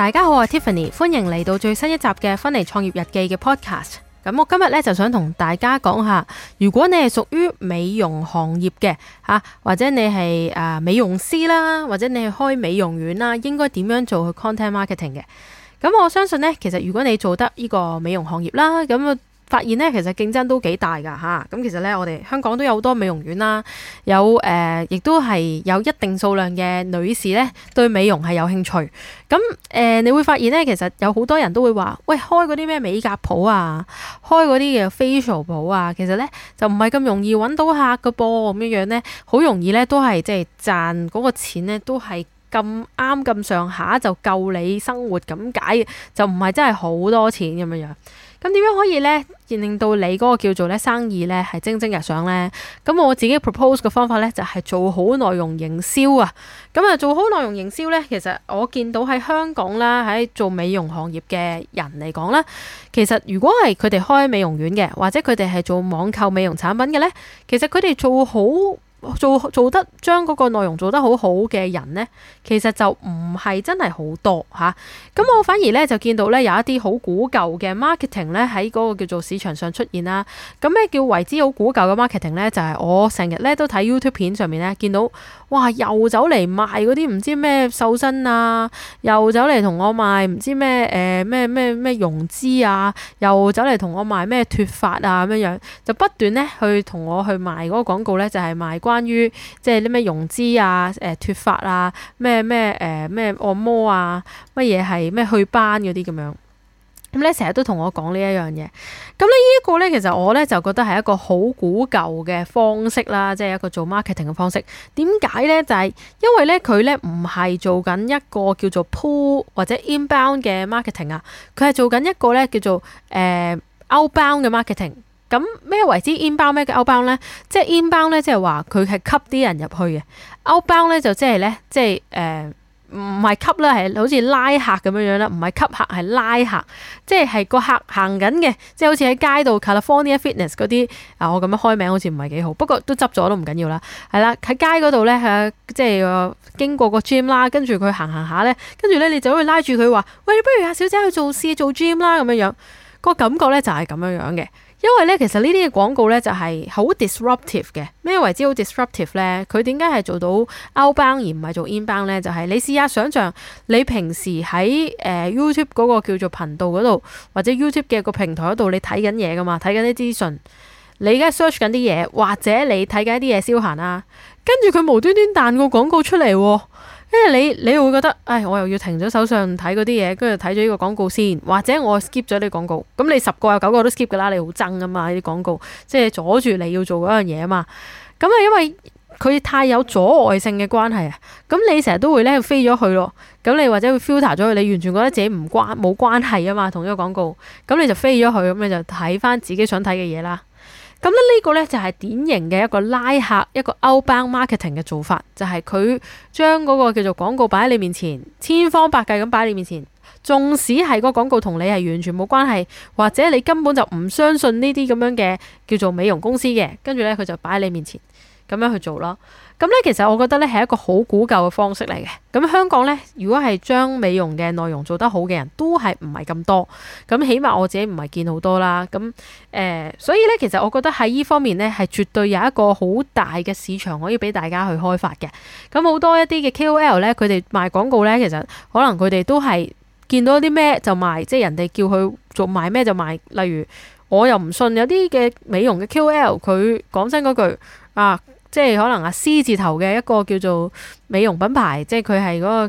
大家好，我係 Tiffany， 歡迎嚟到最新一集嘅芬妮創業日記嘅 podcast。咁我今日咧就想同大家講下，如果你係屬於美容行業嘅或者你係美容師啦，或者你係開美容院啦，應該點樣做去 content marketing 嘅？咁我相信呢，其實如果你做得呢個美容行業啦，咁發現呢，其實競爭都幾大噶吓。咁其實呢，我哋香港都有好多美容院啦，亦都係有一定數量嘅女士呢對美容係有興趣。咁你會發現呢，其實有好多人都會話，喂，開嗰啲咩美甲鋪啊，開嗰啲嘅 facial 鋪啊，其實呢就唔係咁容易揾到客噶噃，咁樣呢，好容易呢都係即係賺嗰個錢呢都係咁啱咁上下就夠你生活咁解，就唔係真係好多錢咁樣樣。咁點樣可以呢令到你嗰個叫做呢生意呢係蒸蒸日上呢？咁我自己 propose 嘅方法呢就係做好內容營銷啊。咁做好內容營銷呢，其實我見到喺香港啦，喺做美容行業嘅人嚟講啦，其實如果係佢哋開美容院嘅，或者佢哋係做網購美容產品嘅呢，其實佢哋做得將嗰個內容做得好好嘅人呢，其實就唔係真係好多吓。咁我反而呢，就見到呢有一啲好古舊嘅 marketing 呢喺嗰個叫做市場上出現啦。咁咩叫為之好古舊嘅 marketing 呢？就係我成日呢都睇 YouTube 片上面呢見到，哇，又走嚟賣嗰啲唔知咩瘦身啊，又走嚟同我賣唔知咩咩溶脂啊，又走嚟同我賣咩脫髮啊咁樣，就不斷呢去同我去賣嗰個廣告呢，就係賣關於即係啲咩溶脂啊、脫髮啊、咩按摩啊、乜嘢係咩去斑嗰啲咁樣。咁咧成日都同我講呢一樣嘢。咁呢一個咧，其實我咧就覺得係一個好古舊嘅方式啦，即係一個做 marketing 嘅方式。點解咧？就係因為咧佢咧唔係做緊一個叫做 pull 或者 inbound 嘅 marketing 啊，佢係做緊一個咧叫做outbound 嘅 marketing。咁咩為之 inbound 咩嘅 outbound 咧？即係 inbound 咧，即係話佢係吸啲人入去嘅。outbound 咧就即係咧，即係唔係吸啦，係好似拉客咁樣樣啦，唔係吸客係拉客，即係個客行緊嘅，即係好似喺街度 California Fitness 嗰啲我咁樣開名好似唔係幾好，不過都執咗都唔緊要啦。係啦，喺街嗰度咧即係經過個 gym 啦，跟住佢行下咧，跟住咧你就可以拉住佢話，喂，你不如阿小姐去做 gym 啦咁樣樣，個感覺咧就係咁樣樣嘅。因為咧，其實呢啲嘅廣告咧就係好 disruptive 嘅。咩為之好 disruptive 咧？佢點解係做到 outbound 而唔係做 inbound 咧？就係你試下想像，你平時喺YouTube 嗰個叫做頻道嗰度，或者 YouTube 嘅個平台嗰度，你睇緊嘢噶嘛，睇緊啲資訊，你而家 search 緊啲嘢，或者你睇緊啲嘢消閒啊，跟住佢無端端彈個廣告出嚟喎。因為你會覺得，我又要停咗手上睇嗰啲嘢，跟住睇咗呢個廣告先，或者我 skip 咗呢個廣告。咁你10個有9個都 skip 噶啦，你好憎噶嘛，呢啲廣告，即係阻住你要做嗰樣嘢啊嘛。咁因為佢太有阻礙性嘅關係啊，咁你成日都會咧飛咗去咯。咁你或者會 filter 咗佢，你完全覺得自己冇關係啊嘛，同呢個廣告。咁你就飛咗去，咁你就睇翻自己想睇嘅嘢啦。咁呢個呢，就係典型嘅一個拉客，一個 outbound marketing 嘅做法，就係佢將嗰個叫做廣告擺喺你面前，千方百計咁擺喺你面前，縱使係個廣告同你係完全冇關係，或者你根本就唔相信呢啲咁樣嘅叫做美容公司嘅，跟住呢，佢就擺喺你面前咁樣去做咯。咁呢，其實我覺得呢係一個好古舊嘅方式嚟嘅。咁香港呢，如果係將美容嘅內容做得好嘅人都係唔係咁多。咁起碼我自己唔係見好多啦。咁所以呢，其實我覺得喺呢方面呢，係絕對有一個好大嘅市場可以俾大家去開發嘅。咁好多一啲嘅 KOL 呢，佢哋賣廣告呢，其實可能佢哋都係見到啲咩就賣，即係人哋叫佢做賣咩就賣。例如我又唔信有啲嘅美容嘅 KOL，佢講真嗰句即係可能C 字頭嘅一個叫做美容品牌，即係佢係嗰個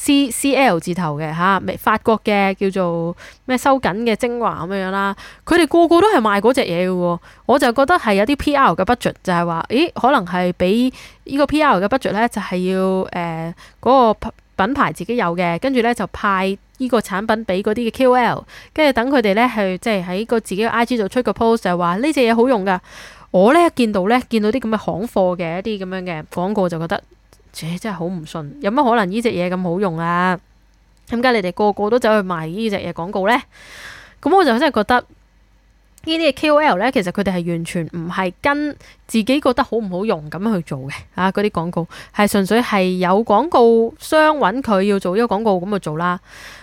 CL 字頭嘅法國嘅叫做咩收緊嘅精華咁樣啦。佢哋個個都係賣嗰隻嘢嘅喎，我就覺得係有啲 PR 嘅 budget，就係話，可能係俾呢個 PR 嘅 budget 咧，就係要嗰個品牌自己有嘅，跟住咧就派呢個產品俾嗰啲嘅 KOL， 跟住等佢哋咧去即係喺個自己嘅 IG 度出個 post， 就係話呢隻嘢好用噶。我咧見到啲咁嘅行貨嘅一啲咁樣嘅廣告，就覺得，真係好唔信，有乜可能呢隻嘢咁好用啊？點解你哋個個都走去賣呢隻嘢廣告呢？咁我就真係覺得呢啲嘅 KOL 咧，其實佢哋係完全唔係跟自己覺得好唔好用咁去做嘅嗰啲廣告係純粹係有廣告商揾佢要做呢個廣告咁去做啦。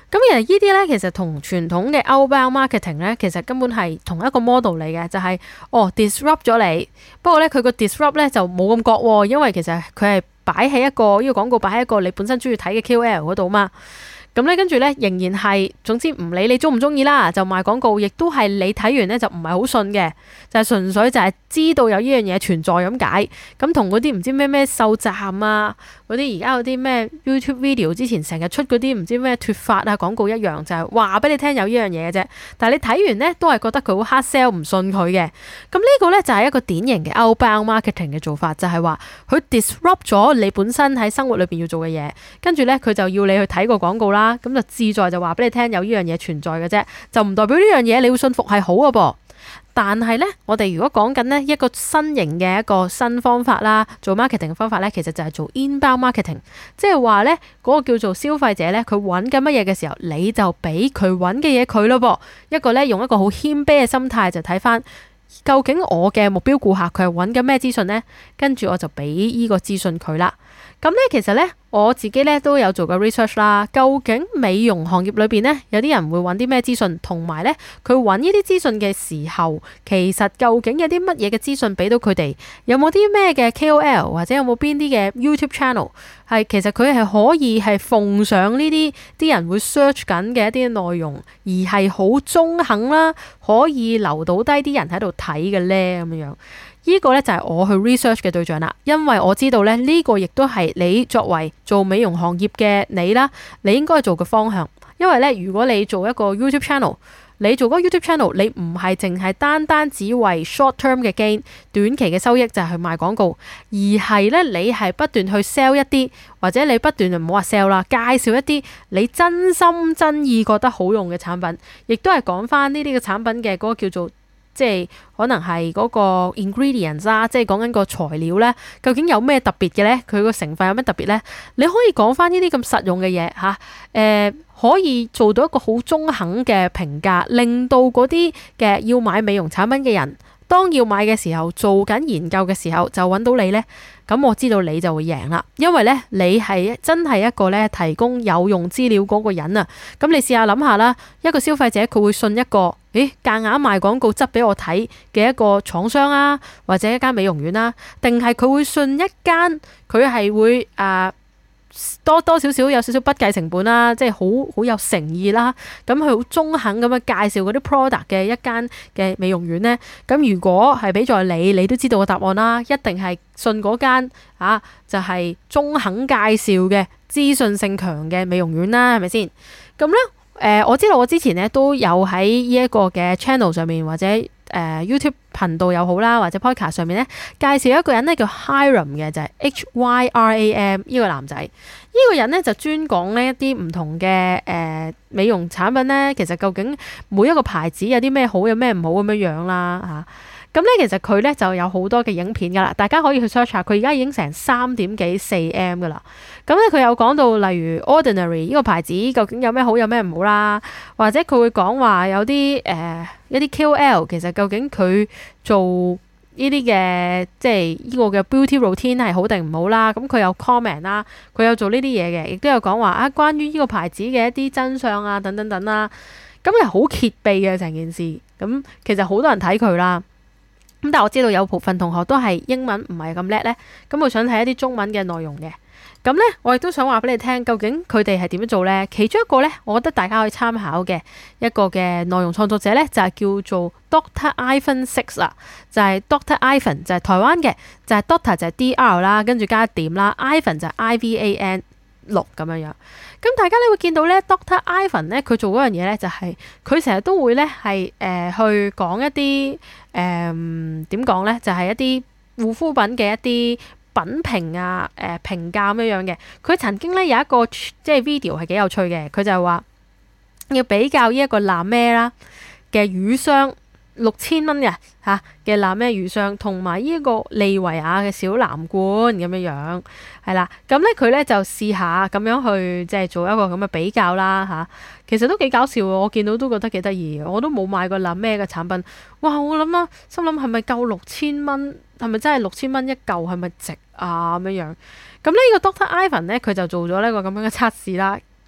咁其實呢啲咧，其實同傳統嘅 outbound marketing 咧，其實根本係同一個 model 嚟嘅，就係disrupt 咗你。不過咧，佢個 disrupt 咧就冇咁覺喎，因為其實佢係擺喺一個呢個廣告擺喺一個你本身中意睇嘅 KOL 嗰度嘛。咁咧，跟住咧仍然係，總之唔理你中唔中意啦，就賣廣告，亦都係你睇完咧就唔係好信嘅，就係純粹就係知道有呢樣嘢存在咁解。咁同嗰啲唔知咩咩秀站啊，嗰啲而家有啲咩 YouTube video 之前成日出嗰啲唔知咩脫髮啊廣告一樣，就係話俾你聽有呢樣嘢嘅啫。但係你睇完咧都係覺得佢好 hard sell，唔信佢嘅。咁呢個咧就係一個典型嘅 outbound marketing 嘅做法，就係話佢 disrupt 咗你本身喺生活裏邊要做嘅嘢，跟住咧佢就要你去睇個廣告啦。咁就志在就話俾你聽有呢樣嘢存在嘅啫，就唔代表呢樣嘢你會信服係好嘅噃。但係呢，我哋如果講緊呢一個新型嘅一個新方法啦，做 marketing 嘅方法呢，其實就係做 inbound marketing，即係話呢嗰個叫做消費者呢，佢揾緊乜嘢嘅時候，你就俾佢揾嘅嘢佢咯噃。一個呢，用一個好謙卑嘅心態就睇翻，究竟我嘅目標顧客佢係揾緊咩資訊呢？跟住我就俾呢個資訊佢啦。咁咧，其實咧我自己咧都有做過 research 啦。究竟美容行業裏邊咧，有啲人會揾啲咩資訊，同埋咧佢揾呢啲資訊嘅時候，其實究竟有啲乜嘢嘅資訊俾到佢哋？有冇啲咩嘅 KOL 或者有冇邊啲嘅 YouTube channel 係其實佢係可以係奉上呢啲人會 search 緊嘅一啲內容，而係好中肯啦，可以留到低啲人喺度睇嘅咧咁樣。呢個咧就係我去 research 嘅對象啦，因為我知道咧呢個亦都係你作為做美容行業嘅你啦，你應該做嘅方向。因為咧，如果你做一個 YouTube channel，你做嗰個 YouTube channel，你唔係淨係單只為 short term 嘅 gain，短期嘅收益就係去賣廣告，而係咧你係不斷去 sell 一啲，或者你不斷就唔好話 sell 啦，介紹一啲你真心真意覺得好用嘅產品，亦都係講翻呢啲嘅產品嘅嗰個叫做。即係可能係嗰個 ingredients 啦，即係講緊個材料咧，究竟有咩特別嘅咧？佢個成分有咩特別咧？你可以講翻呢啲咁實用嘅嘢嚇，可以做到一個好中肯嘅評價，令到嗰啲嘅要買美容產品嘅人，當要買嘅時候，做緊研究嘅時候就揾到你咧。咁我知道你就會贏啦，因為咧你係真係一個咧提供有用資料嗰個人啊。咁你試下諗下啦，一個消費者佢會信一個夾硬賣廣告執俾我睇嘅一個廠商啊，或者一間美容院啦，定係佢會信一間佢係會多少少有少少不計成本啦，即係好有誠意啦。咁佢好中肯咁樣介紹嗰啲 product 嘅一間嘅美容院呢。咁如果係俾在你都知道個答案啦，一定係信嗰間就係中肯介紹嘅資訊性強嘅美容院啦，係咪先？咁呢，我知道我之前呢都有喺呢一個嘅 channel 上面或者YouTube 頻道又好啦，或者 podcast 上面咧介紹一個人咧叫 Hyram 嘅，就係 HYRAM 呢個男仔。呢個人咧就專講呢一啲唔同嘅美容產品咧，其實究竟每一個牌子有啲咩好，有咩唔好咁樣樣啦嚇。咁咧其實佢咧就有好多嘅影片噶啦，大家可以去 search 下。佢而家已經成3點幾4M 噶啦。咁咧佢有講到例如 Ordinary 呢個牌子究竟有咩好，有咩唔好啦，或者佢會講話有啲一啲 KOL 其實究竟佢做呢啲嘅即係呢個嘅 beauty routine 係好定唔好啦。咁佢有 comment 啦，佢有做呢啲嘢嘅，亦都有講話關於呢個牌子嘅一啲真相啊等等等啦。咁係好揭秘嘅成件事。咁其實好多人睇佢啦。咁但係我知道有部分同學都係英文唔係咁叻咧，咁佢想睇一啲中文嘅內容嘅。咁咧，我亦都想話俾你聽，究竟佢哋係點樣做咧？其中一個咧，我覺得大家可以參考嘅一個嘅內容創作者咧，就係叫做 Dr. Ivan 6啦，就係 Dr. Ivan 就係台灣嘅，就係 Dr. 就係 DR 啦，跟住加一點啦 ，Ivan 就係 IVAN 6咁樣樣。咁大家咧會見到咧 Dr. Ivan 咧，佢做嗰樣嘢咧就係佢成日都會咧係去講一啲點講咧，就係一啲護膚品嘅一啲品評啊評價咁樣嘅。佢曾經咧有一個即係 video 係幾有趣嘅，佢就係話要比較呢一個藍咩啦嘅乳霜6000蚊嘅嘅藍咩乳霜，同埋呢一個利維亞嘅小藍罐咁樣樣，係啦。咁咧佢咧就試下咁樣去即係做一個咁嘅比較啦其實都幾搞笑，我見到都覺得幾得意。我都冇買過藍咩嘅產品，哇！我諗啦，心諗係咪夠6000蚊？係咪真係6000蚊一嚿？係咪值啊咁樣樣？咁呢個 Dr. Ivan 咧，佢就做咗呢個咁樣嘅測試啦。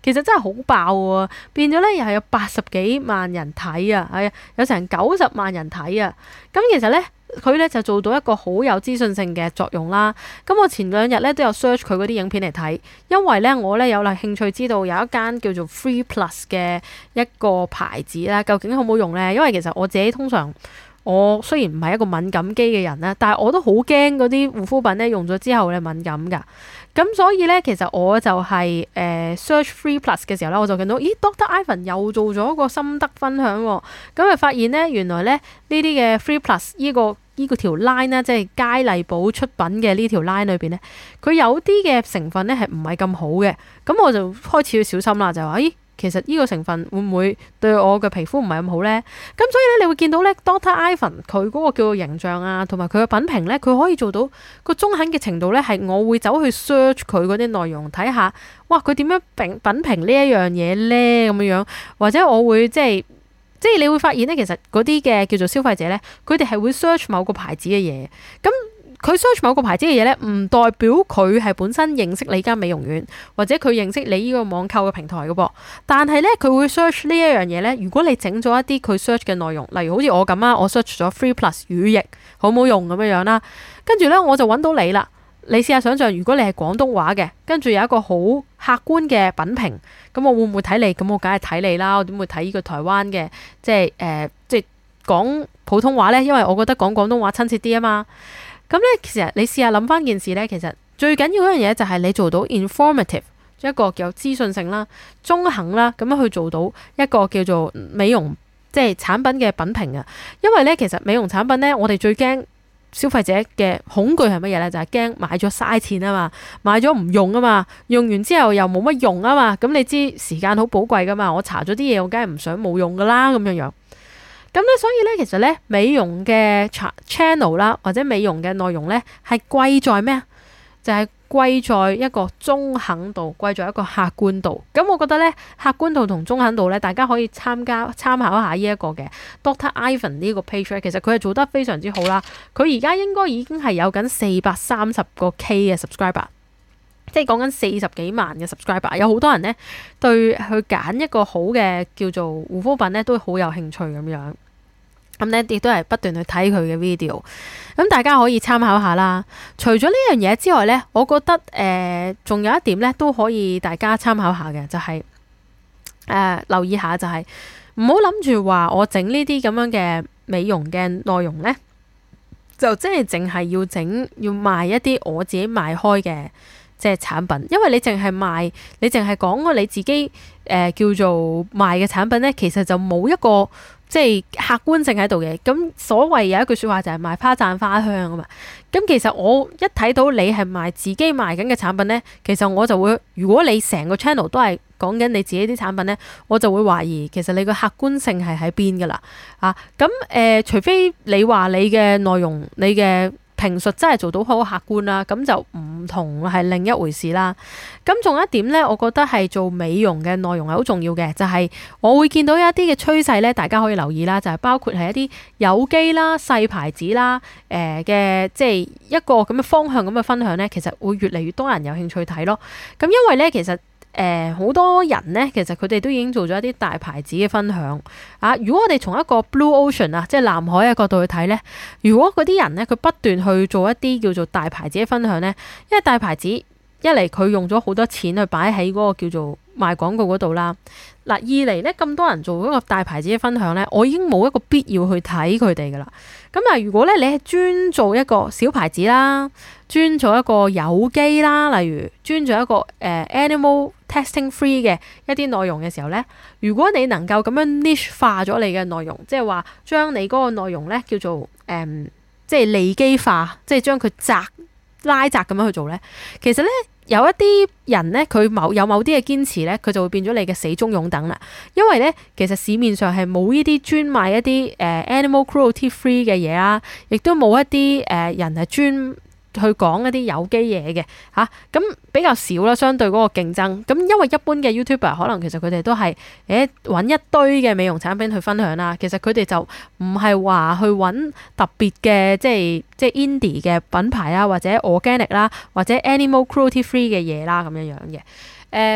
其實真係好爆喎，變咗咧又係有80幾萬人睇啊，係啊，有成90萬人睇啊。咁其實咧佢咧就做到一個好有資訊性嘅作用啦。咁我前2日咧都有 search 佢嗰啲影片嚟睇，因為咧我咧有興趣知道有一間叫做 Free Plus 嘅一個牌子啦，究竟好唔好用咧？因為其實我自己通常我雖然唔係一個敏感肌嘅人啦，但係我都好驚嗰啲護膚品咧用咗之後咧敏感㗎。咁所以咧，其實我就係search Free Plus 嘅時候咧，我就見到，咦 Dr. Ivan 又做咗個心得分享喎。咁啊發現咧，原來咧呢啲嘅 Free Plus 呢個條 line 咧，即係佳麗寶出品嘅呢條 line 裏邊咧，佢有啲嘅成分咧係唔係咁好嘅。咁我就開始要小心啦，就話咦。其實呢個成分會唔會對我嘅皮膚唔係咁好呢？咁所以咧，你會見到咧，Dr. Ivan 佢嗰個叫做形象啊，同埋佢嘅品評咧，佢可以做到個中肯嘅程度咧，係我會走去 search 佢嗰啲內容睇下，哇！佢點樣品評呢一樣嘢咧咁樣，或者我會即係你會發現咧，其實嗰啲嘅叫做消費者咧，佢哋係會 search 某個牌子嘅嘢，咁。佢 search 某個牌子嘅嘢咧，唔代表佢係本身認識你間美容院，或者佢認識你呢個網購嘅平台嘅噃。但係咧，佢會 search 呢一樣嘢咧。如果你整咗一啲佢 search 嘅內容，例如好似我咁啊，我 search 咗 Free Plus 乳液好唔好用咁樣啦，跟住咧我就揾到你啦。你試下想像，如果你係廣東話嘅，跟住有一個好客觀嘅品評，咁我會唔會睇你？咁我梗係睇你啦。我點會睇呢個台灣嘅即係講普通話咧？因為我覺得講廣東話親切啲啊嘛。咁咧，其實你試下諗翻件事咧，其實最緊要嗰樣嘢就係你做到 informative， 一個有資訊性啦、中肯啦，咁樣去做到一個叫做美容即係產品嘅品評啊。因為咧，其實美容產品咧，我哋最驚消費者嘅恐懼係乜嘢咧？就係驚買咗嘥錢啊嘛，買咗唔用啊嘛，用完之後又冇乜用啊嘛。咁你知時間好寶貴噶嘛，我搽咗啲嘢，我梗係唔想冇用噶啦咁樣樣。咁咧，所以咧，其實咧，美容嘅 channel 啦，或者美容嘅內容咧，係貴在咩啊？就係貴在一個中肯度，貴在一個客觀度。咁我覺得咧，客觀度同中肯度咧，大家可以參考下呢一個嘅 Dr. Ivan 呢個 page 咧，其實佢係做得非常之好啦。佢而家應該已經係有緊430個 K 嘅 subscriber， 即係講緊40幾萬嘅 subscriber。有好多人咧對去揀一個好嘅叫做護膚品咧，都會好有興趣咁樣。咁咧亦都係不斷去睇佢嘅 video， 咁大家可以參考下啦。除咗呢樣嘢之外咧，我覺得仲有一點咧都可以大家參考下嘅，就係留意下，就係唔好諗住話我整呢啲咁樣嘅美容嘅內容咧，就即係淨係要賣一啲我自己賣開嘅即係產品，因為你淨係講過你自己叫做賣嘅產品咧，其實就冇一個即係客觀性喺度嘅。咁所謂有一句説話就係賣花讚花香啊嘛。咁其實我一睇到你係賣自己賣緊嘅產品咧，其實我就會，如果你成個 channel 都係講緊你自己啲產品咧，我就會懷疑其實你個客觀性係喺邊噶啦啊。咁除非你話你嘅內容你嘅評述真係做到好客觀啦，咁就唔同係另一回事啦。咁仲有一點咧，我覺得係做美容嘅內容係好重要嘅，就係我會見到一啲嘅趨勢咧，大家可以留意啦，就係包括係一啲有機啦、細牌子啦，嘅即係一個咁嘅方向咁嘅分享咧，其實會越嚟越多人有興趣睇咯。咁因為咧，其實好多人咧，其實佢哋都已經做咗一啲大牌子嘅分享啊。如果我哋從一個 Blue Ocean 啊，即係藍海嘅角度去睇咧，如果嗰啲人咧，佢不斷去做一啲叫做大牌子嘅分享咧，因為大牌子一嚟佢用咗好多錢去擺喺嗰個叫做賣廣告嗰度啦。嗱，二嚟咧，咁多人做嗰個大牌子嘅分享咧，我已經冇一個必要去睇佢哋噶啦。咁啊，如果咧你係專做一個小牌子啦，專做一個有機啦，例如專做一個animal testing free 嘅一啲內容嘅時候咧，如果你能夠咁樣 niche 化咗你嘅內容，即係話將你嗰個內容咧叫做即係利基化，即係將佢拉窄咁樣去做咧，其實咧有一啲人咧佢有某啲嘅堅持咧，佢就會變咗你嘅死忠擁躉啦。因為咧其實市面上係冇呢啲專賣一啲animal cruelty free 嘅嘢啦，亦都冇一啲人係專去講一啲有機嘢嘅嚇，咁比較少啦，相對嗰個競爭。咁因為一般嘅 YouTuber 可能其實佢哋都係揾一堆嘅美容產品去分享啦，其實佢哋就唔係話去揾特別嘅即係 indie 嘅品牌啦，或者 organic 啦，或者 animal cruelty free 嘅嘢啦咁樣樣嘅。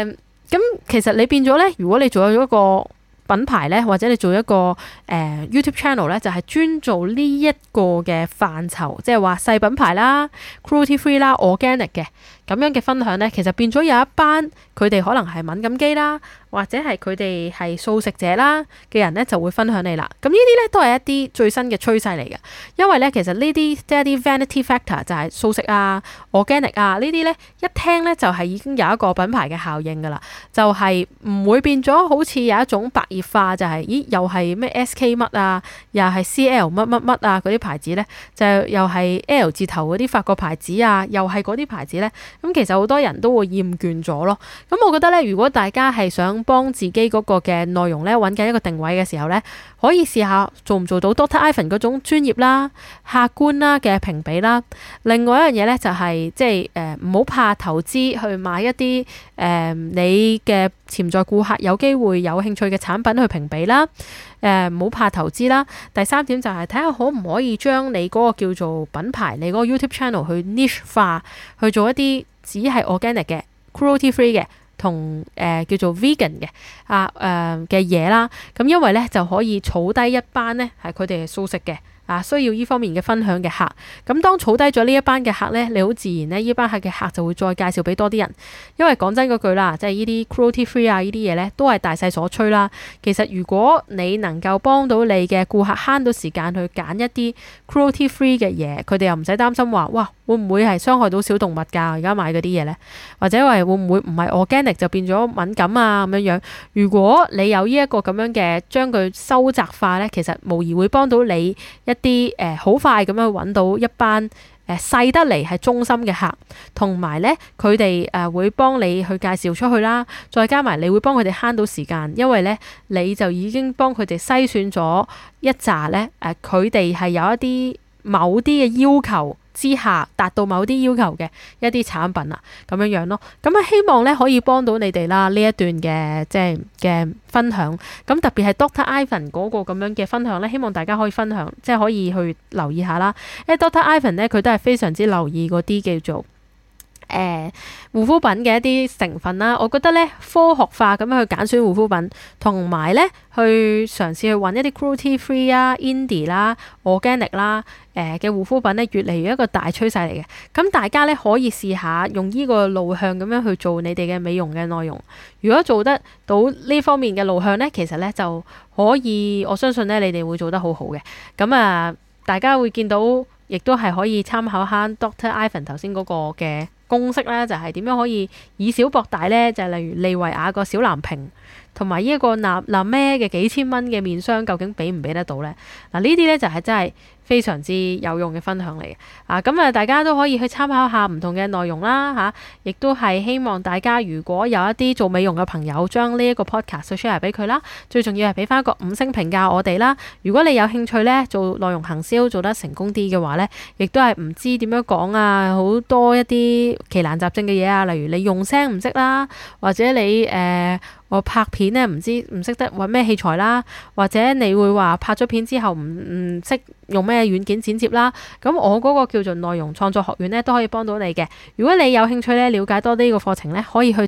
咁其實你變咗咧，如果你做咗一個品牌咧，或者你做一個YouTube channel 咧，就係專做呢一個嘅範疇，即係話細品牌啦、cruelty free 啦、organic 嘅咁樣嘅分享咧，其實變咗有一班佢哋可能係敏感肌啦，或者係佢哋係素食者啦嘅人咧，就會分享你啦。咁呢啲咧都係一啲最新嘅趨勢嚟嘅，因為咧其實呢啲即係一啲 vanity factor 就係素食啊、organic 啊呢啲咧，一聽咧就係已經有一個品牌嘅效應噶啦，就係唔會變咗好似有一種白熱化，就係咦又係咩 SK 乜啊，又係 CL 乜乜乜啊嗰啲牌子咧，就又係 L 字頭嗰啲法國牌子啊，又係嗰啲牌子咧。咁其實好多人都會厭倦咗咯。咁我覺得咧，如果大家係想幫自己嗰個嘅內容咧揾緊一個定位嘅時候咧，可以試下做唔做到 Dr. Ivan 嗰種專業啦、客觀啦嘅評比啦。另外一樣嘢咧就係即係唔好怕投資去買一啲你嘅潛在顧客有機會有興趣嘅產品去評比啦。唔好怕投資啦。第三點就係睇下可唔可以將你嗰個叫做品牌，你嗰個 YouTube channel 去 niche 化，去做一啲只係 organic 嘅、cruelty free 嘅同叫做 vegan 嘅嘅嘢啦。咁因為咧就可以儲低一班咧係佢哋係素食嘅。需要呢方面嘅分享嘅客，咁當儲低咗呢一班嘅客呢，你好自然呢班客嘅客就會再介紹俾多啲人。因為講真嗰句啦，即係呢啲 cruelty free 呢啲嘢呢，都係大勢所趨啦。其實如果你能夠幫到你嘅顧客慳到時間去揀一啲 cruelty free 嘅嘢，佢哋又唔使擔心話，哇會唔會係傷害到小動物㗎？而家買嗰啲嘢呢，或者話會唔會唔係 organic 就變咗敏感啊咁樣樣？如果你有呢一個咁樣嘅將佢收窄化呢，其實無疑會幫到你啲好快咁樣揾到一班細得嚟係忠心嘅客，同埋咧佢哋會幫你去介紹出去啦，再加埋你會幫佢哋慳到時間，因為咧你就已經幫佢哋篩選咗一紮咧佢哋係有一啲某啲嘅要求之下達到某啲要求嘅一啲產品啊，咁樣樣咯。咁希望咧可以幫到你哋啦，呢一段嘅即係嘅分享。咁特別係 Dr. Ivan 嗰個咁樣嘅分享咧，希望大家可以分享，即係可以去留意下啦。因為 Dr. Ivan 咧佢都係非常之留意嗰啲叫做護膚品嘅一啲成分啦。我覺得咧科學化咁樣去揀選護膚品，同埋咧去嘗試去揾一啲 cruelty free 啊、indie 啦、organic 啦嘅護膚品咧，越嚟越一個大趨勢嚟嘅。咁大家咧可以試下用呢個路向咁樣去做你哋嘅美容嘅內容。如果做得到呢方面嘅路向咧，其實咧就可以，我相信咧你哋會做得好好嘅。咁大家會見到，亦都係可以參考下 Dr. Ivan 頭先嗰個嘅公式啦，就係點樣可以以小博大呢？就係例如利維亞個小藍瓶同埋呢一個納咩嘅幾千蚊嘅面霜，究竟俾唔俾得到呢？呢啲呢就係真係非常之有用嘅分享嚟嘅。咁大家都可以去參考下唔同嘅內容啦，亦都係希望大家如果有一啲做美容嘅朋友，將呢一個 podcast share 俾佢啦。最重要係俾翻一個5星評價我哋啦。如果你有興趣呢，做內容行銷做得成功啲嘅話呢，亦都係唔知點樣講啊，好多一啲奇難雜症嘅嘢啊，例如你用聲唔識啦，或者你我拍片咧唔識得揾咩器材啦，或者你會話拍咗片之後唔識用咩軟件剪接啦，咁我嗰個叫做內容創作學院咧都可以幫到你嘅。如果你有興趣咧了解多啲呢個課程咧，可以去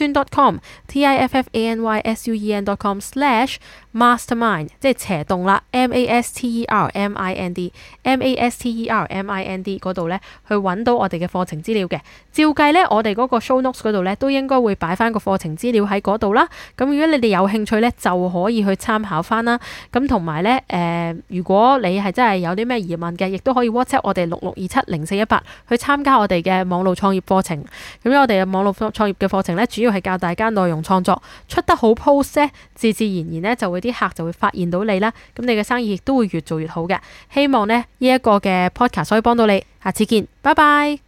tiffanysun.com，tiffanysun.com/mastermind 即係斜洞啦 mastermind 嗰度咧去揾到我哋嘅課程資料嘅。照計咧我哋嗰個 show notes 嗰度咧都應該會擺翻個課程資料喺嗰度啦。咁如果你哋有興趣咧，就可以去參考翻啦。咁同埋咧，如果你係真係有啲咩疑問嘅，亦都可以 WhatsApp 我哋66270418去參加我哋嘅網絡創業課程。咁我哋嘅網絡創業嘅課程咧，主要係教大家內容創作出得好 post 咧，自然咧就會啲客就會發現到你啦。咁你嘅生意亦都會越做越好嘅。希望咧呢一個嘅 podcast 可以幫到你。下次見，拜拜。